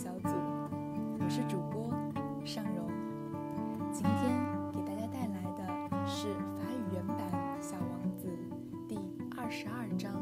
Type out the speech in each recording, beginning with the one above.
小组，我是主播尚荣。今天给大家带来的是法语原版《小王子》第22章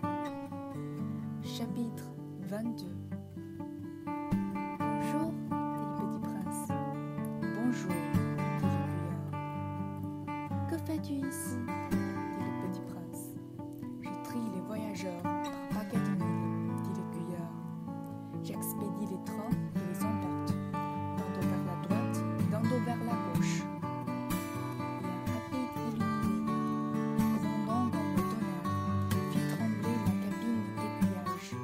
Chapitre 22 Bonjour, dit le petit prince. Bonjour, dit l'aiguilleur. Que fais-tu ici, dit le petit prince. Je trie les voyageurs par paquet de mille, dit l'aiguilleur. J'expédie les trains et les emporte, d'un dos vers la droite, d'un dos vers la gauche. Et un rapide illuminé, grondant comme le tonnerre, fit trembler la cabine d'aiguillage.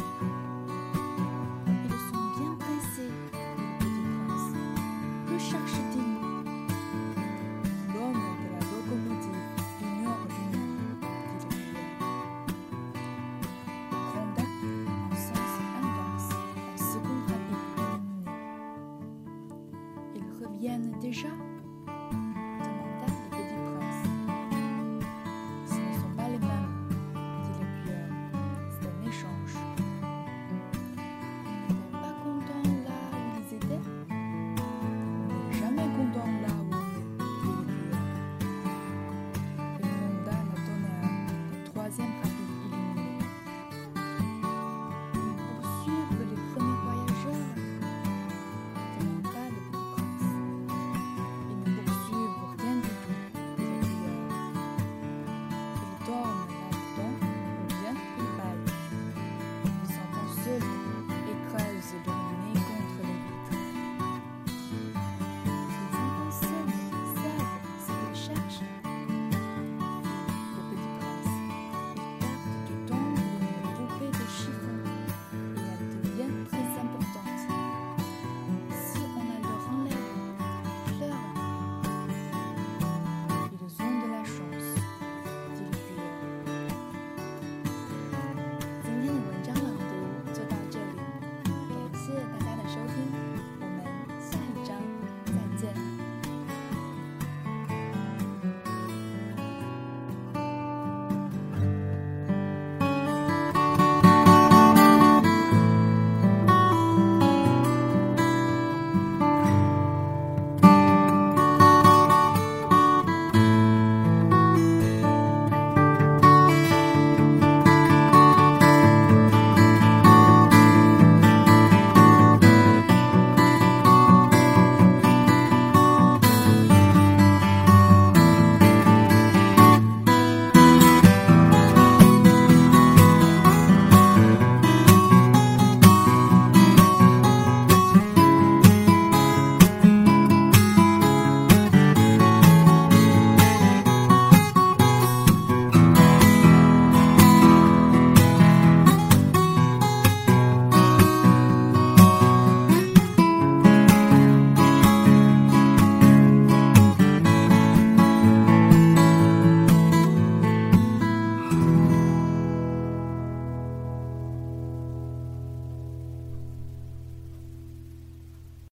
Ils sont bien pressés, dit le petit prince. Que cherche-t-il? L'homme de la locomotive l'ignore lui-même, dit l'aiguilleur. Gronda en sens inverse, en seconde rapide illuminée. Ils reviennent déjà?